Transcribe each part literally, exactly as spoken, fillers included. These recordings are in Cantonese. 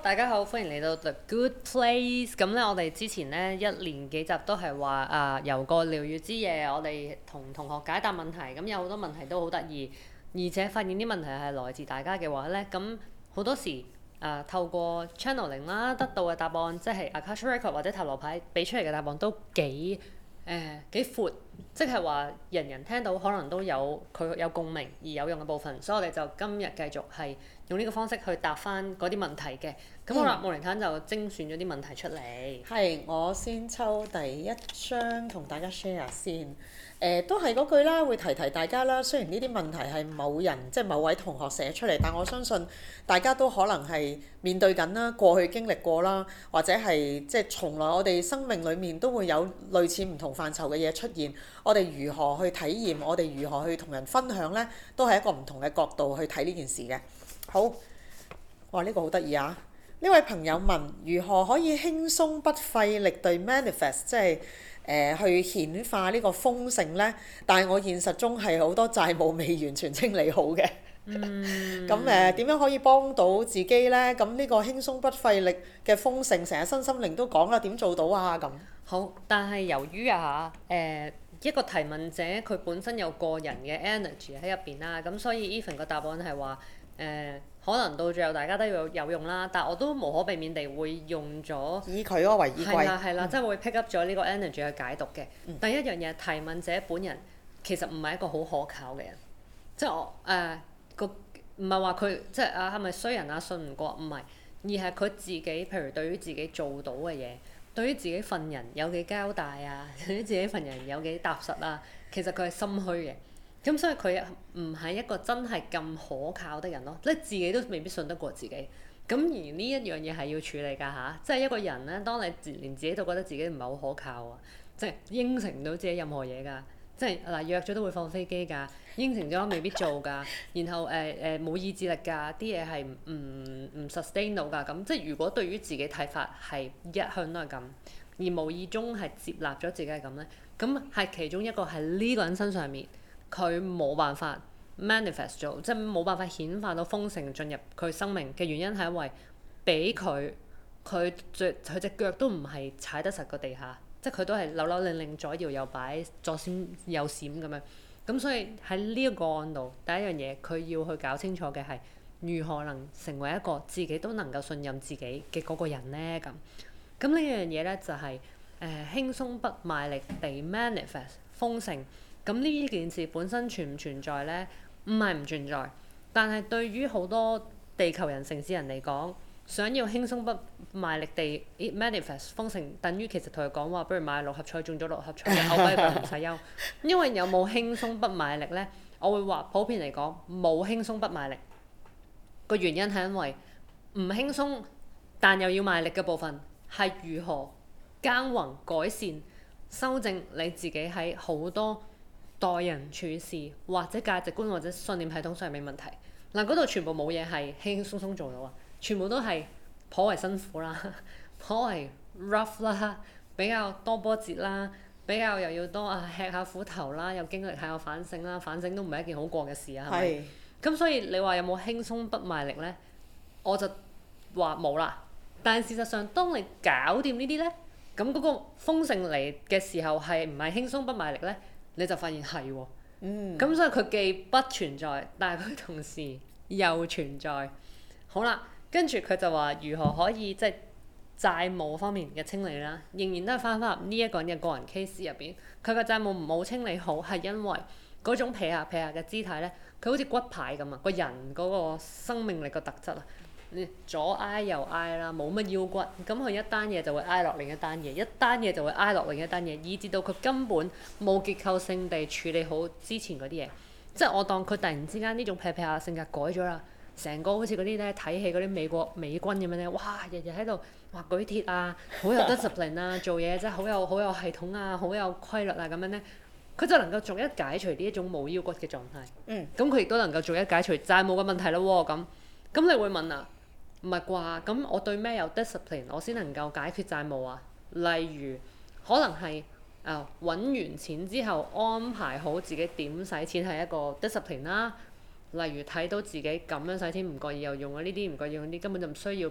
大家好，歡迎嚟到 The Good Place。咁咧，我哋之前咧一連幾集都係話啊，由個療癒之夜，我哋同同學解答問題。咁有好多問題都好得意，而且發現啲問題係來自大家嘅話咧，咁好多時啊透過 channeling 啦得到嘅答案，即係 Akashic Record 或者塔羅牌俾出嚟嘅答案都幾誒幾闊，即係話人人聽到可能都有佢有共鳴而有用嘅部分。所以我哋就今日繼續係用呢個方式去答翻嗰啲問題嘅。咁好啦，莫妮坦就精選咗啲問題出嚟。 係，我先抽第一張同大家 share 先。誒、呃，都係嗰句啦，會提提大家啦。雖然呢啲問題係某人即係某位同學寫出嚟，但我相信大家都可能係面對緊啦，過去經歷過啦，或者係即係從來我哋生命裡面都會有類似唔同範疇嘅嘢出現。我哋如何去體驗，我哋如何去同人分享呢？都係一個唔同嘅角度去睇呢件事嘅。好，哇！呢、這個好得意啊！呢位朋友問：如何可以輕鬆不費力地 manifest，即係誒、呃、去顯化呢個豐盛呢？但係我現實中係好多債務未完全清理好嘅。咁誒點樣可以幫到自己呢？咁呢個輕鬆不費力嘅豐盛，成日身心靈都講啦，點做到啊？咁好，但係由於啊誒、呃、一個提問者佢本身有個人嘅 energy 喺入邊啦，咁所以 even 個答案係話誒。可能到最後大家都有有用啦，但我都無可避免地會用咗以佢嗰個為依歸。係啦係啦，即係、嗯、會 pick up 咗呢個 energy 去解讀嘅。嗯、第一樣嘢，提問者本人其實唔係一個好可靠嘅人，即係我誒個唔係話佢即係啊係咪衰人啊信唔過，唔係，而係佢自己譬如對於自己做到嘅嘢，對於自己份人有幾交代啊，對於自己份人有幾踏實啊，其實佢係心虛嘅。咁所以佢唔係一個真係咁可靠的人咯，即係自己都未必信得過自己。咁而呢一樣嘢係要處理㗎吓，即係一個人咧，當你連自己都覺得自己唔係好可靠啊，即係應承唔到自己任何嘢㗎，即係嗱約咗都會放飛機㗎，應承咗未必做㗎，然後誒誒冇意志力㗎，啲嘢係唔唔 sustain 到㗎。咁即係如果對於自己睇法係一向都係咁，而無意中係接納咗自己係咁咧，咁係其中一個喺呢個人身上面。佢冇辦法 manifest 咗，即係冇辦法顯化到豐盛進入佢生命嘅原因係因為俾佢佢隻佢隻腳都唔係踩得實個地下，即係佢都係扭扭擰擰左搖右擺左閃右閃咁樣。咁所以喺呢一個案度，第一樣嘢佢要去搞清楚嘅係如何能成為一個自己都能夠信任自己嘅嗰個人呢？咁咁呢樣嘢咧就係、是、誒、呃、輕鬆不賣力地 manifest 豐盛。咁呢件事本身存唔存在呢？唔係唔存在，但係對於好多地球人、城市人嚟講，想要輕鬆不賣力地 manifest 豐盛，等於其實同佢講話，不如買六合彩中咗六合彩，我俾佢唔使憂。因為有冇輕鬆不賣力呢？我會話普遍嚟講冇輕鬆不賣力。個原因係因為唔輕鬆，但又要賣力嘅部分係如何耕耘改善、修正你自己喺好多待人處事或者價值觀或者信念系統上面問題，嗱，嗰度全部冇嘢係輕輕鬆鬆做到啊，全部都係頗為辛苦啦，頗為 rough 啦，比較多波折啦，比較又要多啊吃下苦頭啦，又經歷下有反省啦，反省都唔係一件好過嘅事啊，係咪？咁所以你話有冇輕鬆不賣力呢？我就話冇啦。但係事實上，當你搞掂呢啲呢，咁嗰個豐盛嚟嘅時候係唔係輕鬆不賣力呢？你就發現係喎，咁、嗯、所以佢既不存在，但係佢同時又存在。好啦，跟住佢就話如何可以即係、就是、債務方面嘅清理啦，仍然都係翻返入呢一個人嘅個人 case 入邊。佢個債務唔好清理好，係因為嗰種撇下撇下嘅姿態咧，佢好似骨牌咁啊，個人嗰個生命力個特質啊。左挨右挨啦，冇乜腰骨，咁佢一單嘢就會挨落另一單嘢，一單嘢就會挨落另一單嘢，以至到佢根本冇結構性地處理好之前嗰啲嘢。即係我當佢突然之間呢種撇撇下性格改咗啦，成個好似嗰啲咧睇戲嗰啲美國美軍咁樣咧，哇！日日喺度哇舉鐵啊，好有 discipline 啊，做嘢真係好有好有系統啊，好有規律啊咁樣咧，佢就能夠逐一解除呢一種冇腰骨嘅狀態。嗯。咁佢亦都能夠逐一解除債務嘅問題咯喎，咁咁你會問啊？唔係啩？咁我對咩有 discipline，我先能夠解決債務啊？例如，可能係啊揾完錢之後安排好自己點使錢係一個 discipline 啦。例如睇到自己咁樣使錢唔覺意又用咗呢啲，唔覺意用啲根本就唔需要嘅，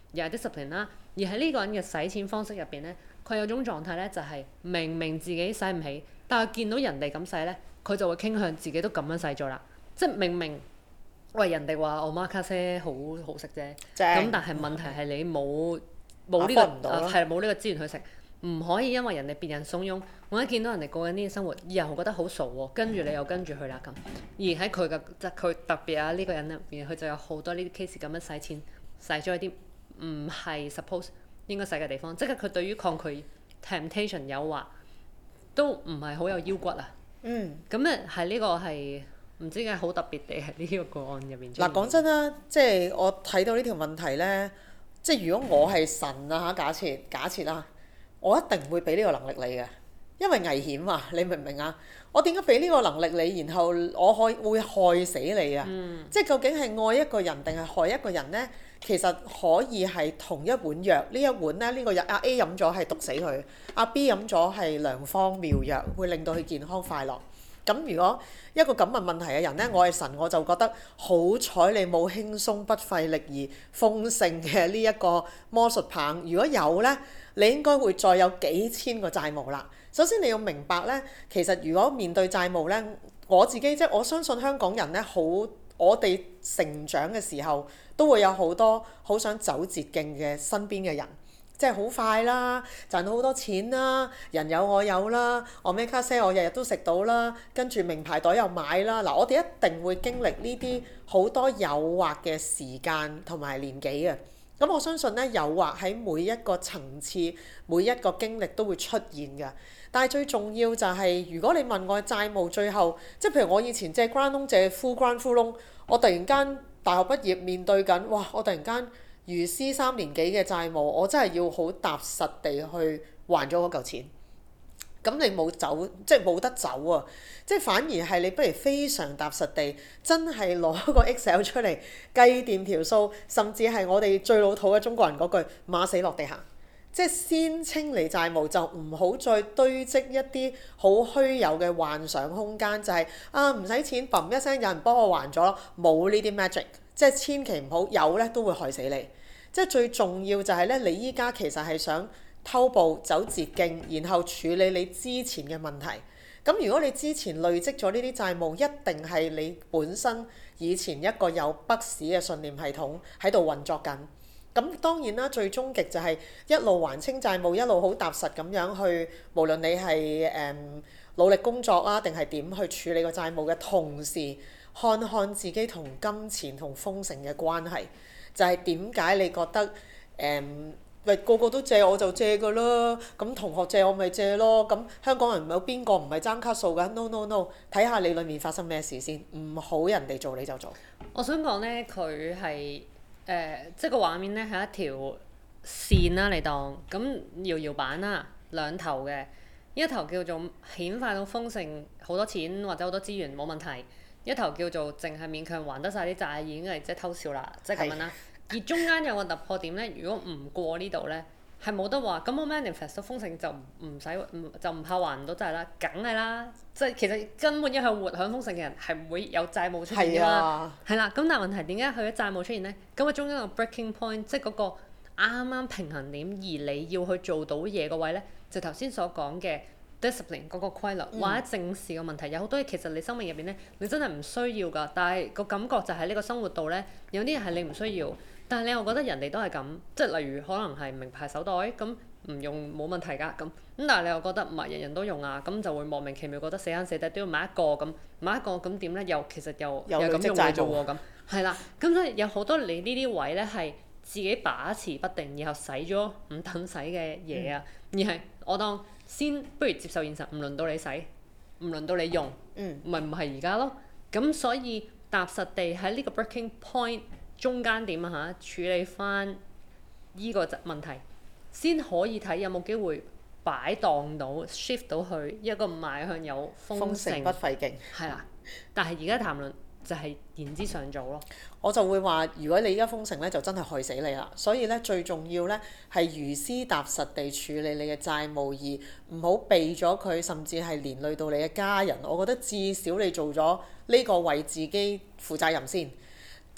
又係 discipline 啦。而喺呢個人嘅使錢方式入邊咧，佢有種狀態咧，就係明明自己使唔起，但係見到人哋咁使咧，佢就會傾向自己都咁樣使咗啦。即係明明喂人哋話 omakase 好好食啫，咁但係問題係你冇冇呢個係冇呢個資源去食。唔可以因為人哋別人慫恿，我一見到人哋過緊呢啲生活，又覺得好傻喎，跟住你又跟住去啦咁。而喺佢嘅即係佢特別啊呢、呢個人入邊，佢就有好多呢啲 case 咁樣使錢，使咗一啲唔係 suppose 應該使嘅地方，即係佢對於抗拒 temptation 誘惑都唔係好有腰骨啊。嗯。咁咧係呢個係唔知點解好特別地喺呢個個案入邊。 嗱講真啦，即係我睇到呢條問題咧，即係如果我係神啊嚇，假設假設啦。我一定會俾呢個能力你嘅，因為危險啊！你明唔明啊？我點解俾呢個能力你，然後我可以會害死你啊？嗯、即係究竟係愛一個人定係害一個人呢？其實可以係同一碗藥，呢一碗咧，呢、呢個藥阿 A 飲咗係毒死佢，阿 B 飲咗係良方妙藥，會令到佢健康快樂。咁如果一個咁嘅問題嘅人呢，我係神，我就覺得好彩你冇輕鬆不費力而豐盛嘅呢一個魔術棒。如果有呢，你應該會再有幾千個債務啦。首先你要明白呢，其實如果面對債務呢，我自己即係我相信香港人呢，好我哋成長嘅時候都會有好多好想走捷徑嘅身邊嘅人。即係好快啦，賺到好多錢啦，人有我有啦，我咩卡西我日日都食到啦，跟住名牌袋又買啦。嗱，我哋一定會經歷呢啲好多誘惑嘅時間同埋年紀嘅。咁我相信咧，誘惑喺每一個層次、每一個經歷都會出現嘅。但係最重要就係、是，如果你問我債務最後，即係譬如我以前借 grant loan 借 full grant full loan，我突然間大學畢業面對緊，哇！我突然間如斯三年幾嘅債務，我真係要好踏實地去還咗嗰嚿錢。咁你冇走，即係冇得走啊！即係反而係你不如非常踏實地，真係攞個 Excel 出嚟計掂條數，甚至係我哋最老土嘅中國人嗰句馬死落地行。即係先清理債務，就唔好再堆積一啲好虛有嘅幻想空間，就係、是、啊唔使錢，砰一聲有人幫我還咗咯，冇呢啲 magic。即係千祈唔好有咧，都會害死你。即係最重要就係咧，你依家其實係想偷步走捷徑，然後處理你之前嘅問題。咁如果你之前累積咗呢啲債務，一定係你本身以前一個有不死嘅信念系統喺度運作緊。咁當然啦，最終極就係一路還清債務，一路好踏實咁樣去，無論你係誒、嗯、努力工作啊，定係點去處理個債務嘅同時，看看自己同金錢同豐盛嘅關係。就係點解你覺得誒喂、嗯、個個都借我就借㗎啦？咁同學借我咪借咯？咁香港人有邊個唔係爭卡數㗎 ？No no no！睇下你裡面發生咩事先，唔好人哋做你就做。 我想講咧，佢係誒即係個畫面咧係一條線啦，你當咁搖搖板啦，兩頭嘅一頭叫做顯化到豐盛好多錢或者好多資源冇問題。一頭叫做淨係勉強還得晒啲債，已經係即係偷笑啦，即係咁樣啦。而中間有個突破點咧，如果唔過呢度咧，係冇得話。咁我 manifest 到豐盛就唔使唔就唔怕還唔到債啦，梗係啦。即係其實根本一向活享豐盛嘅人係唔會有債務出現㗎嘛。係啦、啊，咁但係問題點解佢嘅債務出現咧？咁啊中間個 breaking point，即係嗰個啱啱平衡點，而你要去做到嘢個位咧，就頭先所講嘅。discipline 嗰個規律，或者正視個問題，有好多嘢其實你生命入邊咧，你真係唔需要㗎。但係個感覺就係呢個生活度咧，有啲嘢係你唔需要，但係你又覺得人哋都係咁，即係例如可能係名牌手袋咁唔用冇問題㗎咁。咁但係你又覺得唔係人人都用啊，咁就會莫名其妙覺得死慳死抵都要買一個咁，買一個咁點咧？又其實又又咁用嘅啫喎咁，係啦。咁所以有好多你呢啲位咧係自己把持不定，然後使咗唔等使嘅嘢啊，嗯、而係我當。先不如接受現實，唔輪到你使，唔輪到你用，咪唔係而家咯。咁所以踏實地喺呢個 breaking point 中間點啊嚇，處理翻依個問題，先可以睇有冇機會擺盪到 shift 到去一個邁向有豐盛，豐盛不費勁。係啦，但係而家談論就係言之尚早咯。 我就會話，如果你而家豐盛咧，就真係害死你啦。所以咧，最重要咧係如斯踏實地處理你嘅債務，而唔好避咗佢，甚至係連累到你嘅家人。我覺得至少你做咗呢個為自己負責任先。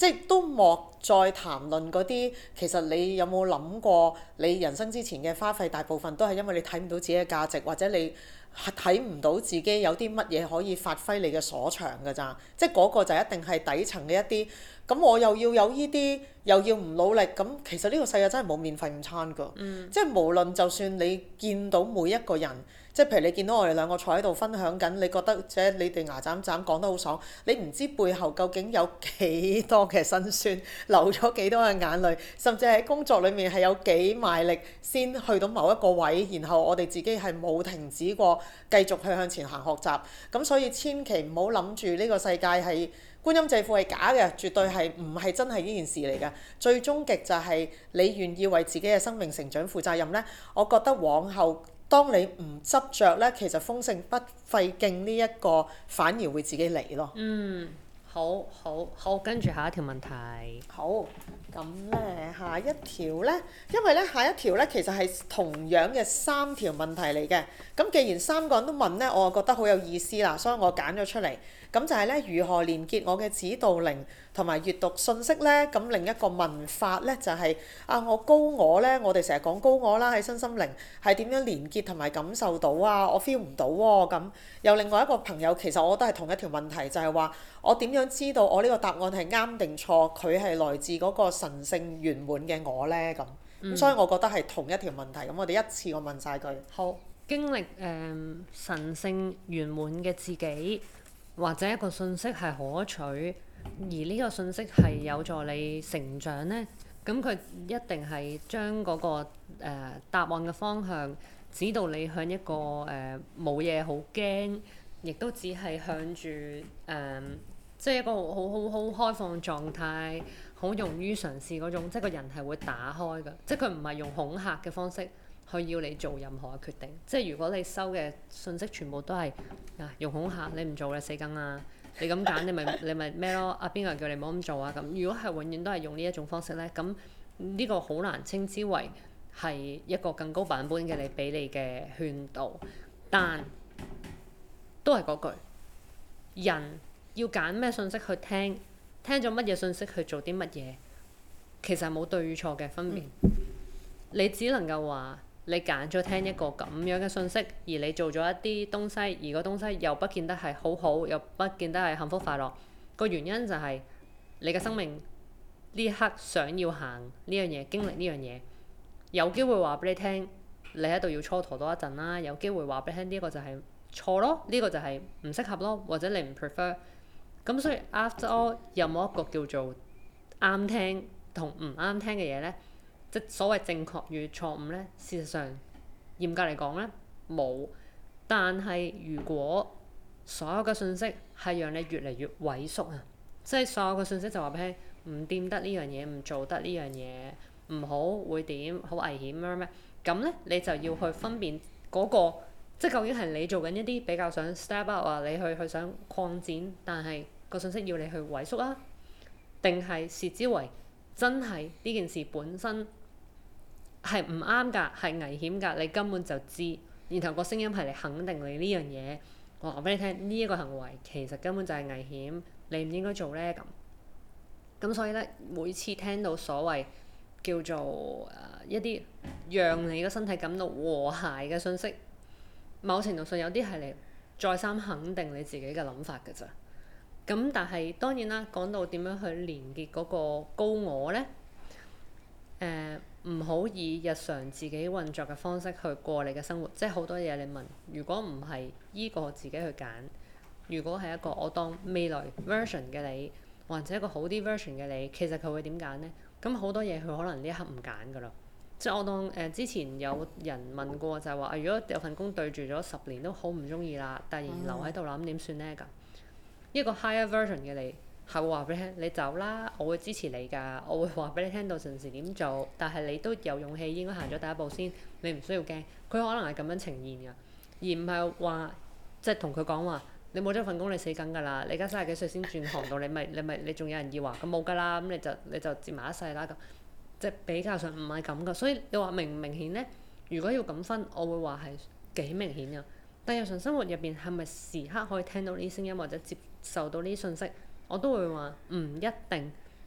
即係都莫再談論嗰啲，其實你有冇諗過，你人生之前嘅花費大部分都係因為你睇唔到自己嘅價值，或者你睇唔到自己有啲乜嘢可以發揮你嘅所長㗎咋，即係嗰個就一定係底層嘅一啲。咁我又要有呢啲，又要唔努力，咁其實呢個世界真係冇免費午餐㗎。嗯、即係無論就算你見到每一個人。即係譬如你見到我哋兩個坐喺度分享緊，你覺得即係你哋牙斬斬講得好爽，你唔知背後究竟有幾多嘅辛酸，流咗幾多嘅眼淚，甚至喺工作裡面係有幾賣力先去到某一個位，然後我哋自己係冇停止過，繼續去向前行學習。咁所以千祈唔好諗住呢個世界係觀音借庫係假嘅，絕對係唔係真係呢件事嚟㗎。最終極就係你願意為自己嘅生命成長負責任呢。我覺得往後。當你唔執着咧，其實豐盛不費勁呢一個反而會自己嚟咯。 嗯，好好好，跟住下一條問題。 好，咁咧下一條咧，因為咧下一條咧其實係同樣嘅三條問題嚟嘅。咁既然三個人都問咧，我就覺得好有意思啦，所以我揀咗出嚟。咁就係咧，如何連結我嘅指導靈同埋閱讀信息咧？咁另一個問法咧就係、是、啊，我高我咧，我哋成日講高我啦，喺身心靈係點樣連結同埋感受到啊？我 feel 唔到喎。咁有另外一個朋友，其實我覺得係同一條問題，就係、是、話我點樣知道我呢個答案係啱定錯？佢係來自嗰個神聖圓滿嘅我咧。咁咁，嗯、所以我覺得係同一條問題。咁我哋一次過問晒佢。 好，經歷誒、呃、神聖圓滿嘅自己。或者一個信息係可取，而呢個信息係有助你成長呢，咁佢一定係將嗰、那個、呃、答案嘅方向指導你向一個誒冇嘢好驚，亦都只係向住誒、呃、即係一個好好好開放狀態，好勇於嘗試嗰種，即係個人係會打開㗎，即係佢唔係用恐嚇嘅方式。去要你做任何嘅決定，即係如果你收嘅信息全部都係啊用恐嚇，你唔做你死梗啊！你咁揀你咪你咪咩咯？啊邊個人叫你唔好咁做啊？咁如果係永遠都係用呢一種方式咧，咁呢個好難稱之為係一個更高版本嘅你俾你嘅勸導，但都係嗰句，人要揀咩信息去聽，聽咗乜嘢信息去做啲乜嘢，其實冇對與錯嘅分別，嗯、你只能夠話。你揀咗聽一個咁樣嘅信息，而你做咗一啲東西，而個東西又不見得係好好，又不見得係幸福快樂。個原因就係你嘅生命呢一刻想要行呢樣嘢，經歷呢樣嘢，有機會話俾你聽，你喺度要蹉跎多一陣啦。有機會話俾你聽，呢個就係錯咯，呢個就係唔適合咯，或者你唔 prefer。咁所以 after all 有冇一個叫做啱聽同唔啱聽嘅嘢呢？即所謂正確與錯誤呢，事實上嚴格嚟講呢，冇。但係如果所有嘅信息係讓你越嚟越萎縮啊，即係所有嘅信息就話俾你聽，唔掂得呢樣嘢，唔做得呢樣嘢，唔好會點，好危險咩咩，咁呢，你就要去分辨嗰個，即係究竟係你做緊一啲比較想 step up 啊，你去去想擴展，但係個信息要你去萎縮啊，定係視之為真係呢件事本身。係唔啱㗎，係危險㗎，你根本就知。然後個聲音係嚟肯定你呢樣嘢，我話俾你聽，呢、這、一個行為其實根本就係危險，你唔應該做呢。咁。咁所以呢，每次聽到所謂叫做、呃、一啲讓你個身體感到和諧嘅信息，某程度上有啲係嚟再三肯定你自己嘅諗法㗎咋。咁但係當然啦，講到點樣去連結嗰個高我呢？誒、呃。唔好以日常自己運作嘅方式去過你嘅生活，即係好多嘢你問，如果唔係依個自己去揀，如果係一個我當未來 version 嘅你，或者一個好啲 version 嘅你，其實佢會點揀呢？咁好多嘢佢可能呢一刻唔揀㗎啦。即係我當誒、呃、之前有人問過就係話啊，如果有份工對住咗十年都好唔中意啦，突然留喺度啦，咁點算呢？咁一個 higher version 嘅你。係會話俾你聽，你走啦，我會支持你㗎，我會話俾你聽到陣時點做，但係你都有勇氣應該行咗第一步先，你唔需要驚。佢可能係咁樣呈現㗎，而唔係話即係同佢講話，你冇咗份工你死梗㗎啦，你而家三十幾歲先轉行到，你咪你咪你仲有人要啊？咁冇㗎啦，咁你就你就接埋一世啦咁，即係比較上唔係咁㗎。所以你話明唔明顯呢？如果要咁分，我會話係幾明顯㗎。但日常生活入邊係咪時刻可以聽到呢啲聲音或者接受到呢啲信息？我都會話唔一定，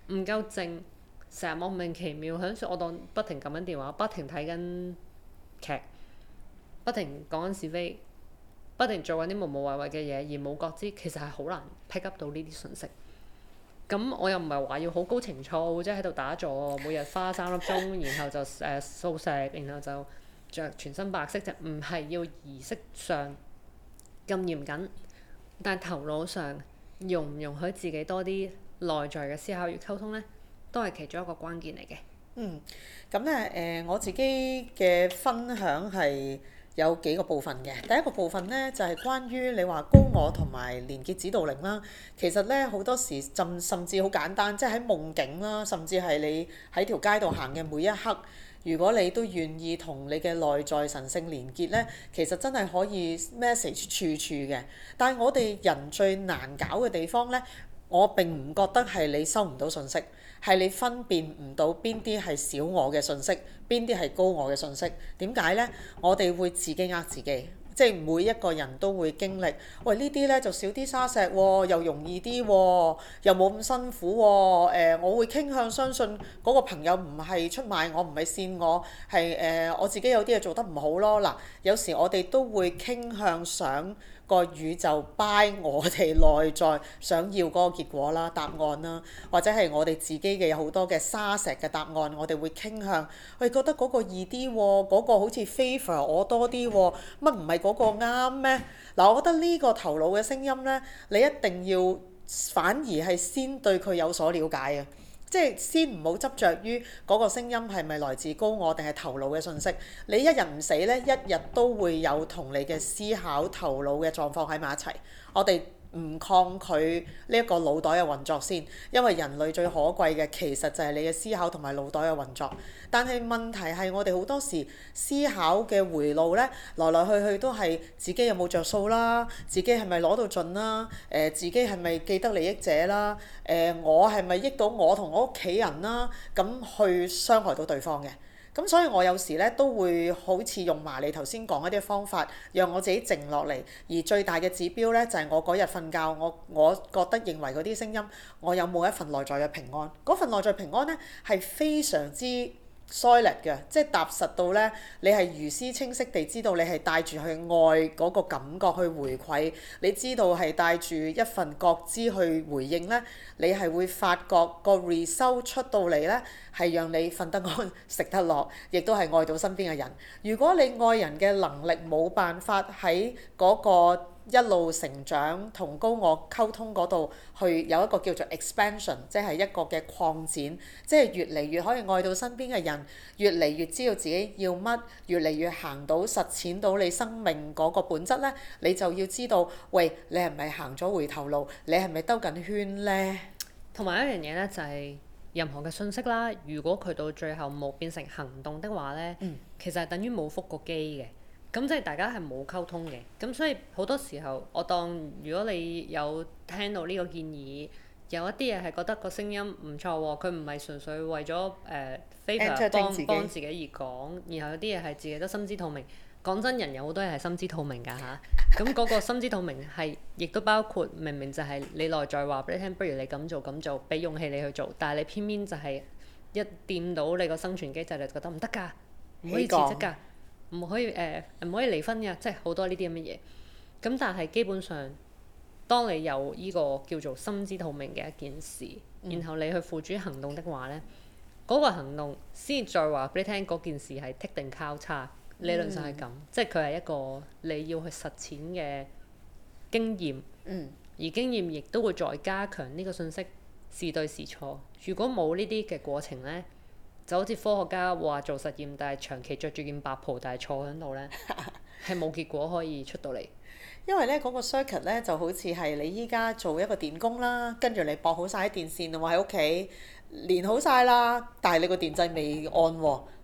唔夠靜，成日莫名其妙響我當不停撳緊電話，不停睇緊劇，不停講緊是非，不停做緊啲無無謂謂嘅嘢而冇覺知，其實係好難 pick up 到呢啲信息。咁我又唔係話要好高情操，即係喺度打坐，每日花三粒鐘，然後就誒素食，然後就着全身白色，就唔係要儀式上咁嚴謹，但係頭腦上容唔容許自己多啲內在嘅思考與溝通呢，都係其中一個關鍵嚟嘅。 嗯，咁咧誒，我自己嘅分享係有幾個部分嘅。第一個部分咧就係、是、關於你話高我同埋連結指導靈啦。其實咧好多時甚甚至好簡單，即係喺夢境啦，甚至係你喺條街度行嘅每一刻，如果你都願意同你嘅內在神性連結咧，其實真係可以 message 處處嘅。但係我哋人最難搞嘅地方咧，我並唔覺得係你收唔到信息，係你分辨唔到邊啲係小我嘅信息，邊啲係高我嘅信息。點解呢？我哋會自己呃自己，即係每一個人都會經歷。喂，呢啲呢就少啲沙石喎，又容易啲喎，又冇咁辛苦喎。呃，我會傾向相信嗰個朋友唔係出賣我，唔係騙我，係誒、呃、我自己有啲嘢做得唔好咯。嗱，有時我哋都會傾向想個宇宙 buy 我哋內在想要嗰個結果啦、答案啦，或者係我哋自己嘅有好多嘅沙石嘅答案，我哋會傾向，喂，覺得嗰個易啲喎，嗰個好似 favor 我多啲喎，乜唔係嗰個啱咩？嗱，我覺得呢個頭腦嘅聲音呢，你一定要反而係先對佢有所了解啊！即係先唔好執着於嗰個聲音係咪來自高我定係頭腦嘅信息。你一日唔死呢，一日都會有同你嘅思考頭腦嘅狀況喺埋一齊。我哋唔抗拒呢一個腦袋嘅運作先，因為人類最可貴嘅其實就係你嘅思考同埋腦袋嘅運作。但係問題係我哋好多時思考嘅回路呢，來來去去都係自己有冇着數啦，自己係咪攞到盡啦，誒、呃、自己係咪既得利益者啦，誒、呃、我係咪益到我同我屋企人啦，咁去傷害到對方嘅。咁所以我有時咧都會好似用埋你頭先講一啲方法，讓我自己靜落嚟。而最大嘅指標咧就係、是、我嗰日瞓覺，我我覺得認為嗰啲聲音，我有冇一份內在嘅平安？嗰份內在平安咧係非常之solid嘅，即係踏實到咧，你係如斯清晰地知道你係帶住去愛嗰個感覺去回饋，你知道係帶住一份覺知去回應咧，你係會發覺個 result 出到嚟咧，係讓你瞓得安、食得落，亦都係愛到身邊嘅人。如果你愛人嘅能力冇辦法喺嗰個一路成長同高我溝通嗰度，去有一個叫做 expansion， 即係一個嘅擴展，即係越嚟越可以愛到身邊嘅人，越嚟越知道自己要乜，越嚟越行到實踐到你生命嗰個本質咧，你就要知道，喂，你係咪行咗回頭路？你係咪兜緊圈咧？ 同埋一樣嘢咧，就係任何嘅信息啦，如果佢到最後冇變成行動的話咧， 嗯、 其實係等於冇覆過機嘅。咁即係大家係冇溝通嘅，咁所以好多時候，我當如果你有聽到呢個建議，有一啲嘢係覺得個聲音唔錯喎，佢唔係純粹為咗誒 favor 幫幫自己而講，然後有啲嘢係自己都心知肚明。講真，人有好多嘢係心知肚明㗎吓，咁嗰個心知肚明係亦都包括明明就係你內在話俾你聽，不如你咁做咁做，俾勇氣你去做，但係你偏偏就係一掂到你個生存機制，你就覺得唔得㗎，唔可以辭職㗎。唔可以誒，唔、呃、可以離婚嘅，即係好多呢啲咁嘅嘢。咁但係基本上，當你有呢個叫做心知肚明嘅一件事，嗯、然後你去付諸行動的話呢，嗰、那個行動先再話俾你聽嗰件事係剔定交叉，理論上係咁，嗯、即係佢係一個你要去實踐嘅經驗。 嗯、 而經驗亦都會再加強呢個信息是對是錯。如果冇呢啲嘅過程呢，就好似科學家話做實驗，但係長期着住件白袍，但係坐喺度咧，係冇結果可以出到嚟。 因為咧嗰、那個 circuit 咧就好似係你依家做一個電工啦，跟住你駁好晒啲電線喎喺屋企，連好晒啦，但係你個電掣未按喎，咁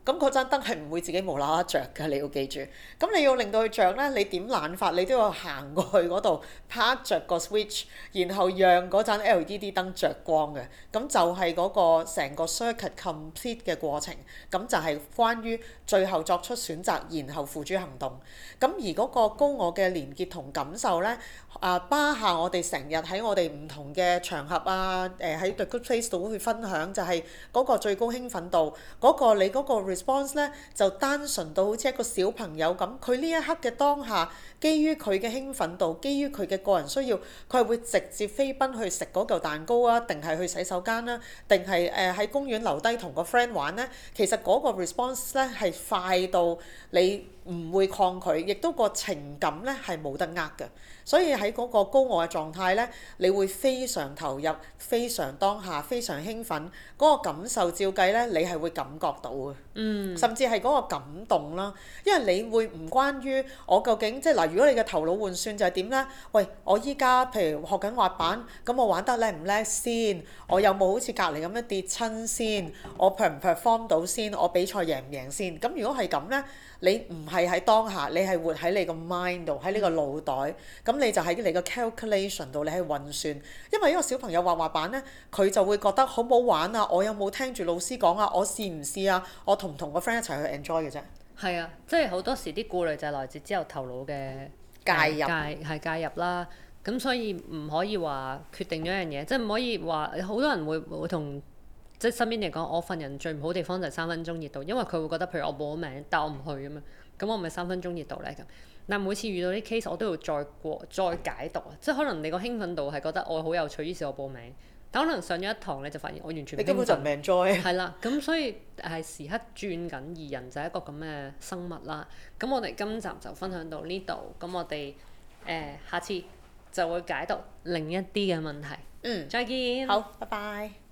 咁嗰盞燈係唔會自己無啦啦着㗎，你要記住。咁你要令到佢着咧，你點懶法，你都要行過去嗰度拍着個 switch，然後讓嗰盞 L E D 燈着光嘅。咁就係嗰個成個 circuit complete 嘅過程。咁就係關於最後作出選擇，然後付諸行動。咁而嗰個高我嘅連結同感受咧，啊巴夏我哋成日喺我哋唔同嘅場合啊，誒喺 The Good Place 度會分享，就係嗰個最高興奮度，嗰個你嗰個 response 咧就單純到好似一個小朋友咁，佢呢一刻嘅當下，基於佢嘅興奮度，基於佢嘅個人需要，佢係會直接飛奔去食嗰嚿蛋糕啊，定係去洗手間啦，定係誒喺公園留低同個 friend 玩咧？其實嗰個 response 咧係快到你唔會抗拒，亦都個情感咧係冇得呃嘅。所以喺嗰個高我嘅狀態咧，你會非常投入、非常當下、非常興奮，嗰個感受照計咧，你係會感覺到嘅。嗯。甚至係嗰個感動啦，因為你會唔關於我究竟即係嗱，如果你嘅頭腦換算就係點咧？喂，我依家譬如學緊滑板，咁我玩得叻唔叻先？我有冇好似隔離咁樣跌親先？我 per 唔 perform 到先？我比賽贏唔贏先？咁如果係咁咧，你唔係喺當下，你係活喺你個 mind 度，喺呢個腦袋，咁你就喺你個 calculation 度，你係運算。因為呢個小朋友滑滑板咧，佢就會覺得好唔好玩啊？我有冇聽住老師講啊？我試唔試啊？我同唔同個 friend 一齊去 enjoy 嘅啫。係啊，即係好多時啲顧慮就係來自之後頭腦嘅介入， 介係介入啦。咁所以唔可以話決定咗一樣嘢，即係唔可以話好多人會會同。即係身邊嚟講，我份人最唔好地方就係三分鐘熱度，因為佢會覺得譬如我報咗名，但我唔去咁樣，咁我咪三分鐘熱度咧咁。但每次遇到啲 case，我都要再過再解讀啊，即係可能你個興奮度係覺得我好有趣，於是我報名，但可能上咗一堂你就發現我完全唔興奮。你根本就唔 enjoy。係啦，咁所以係時刻轉緊，而人就係一個咁嘅生物啦。咁我哋今集就分享到呢度，咁我哋誒、呃、下次就會解讀另一啲嘅問題。嗯。再見。好，拜拜。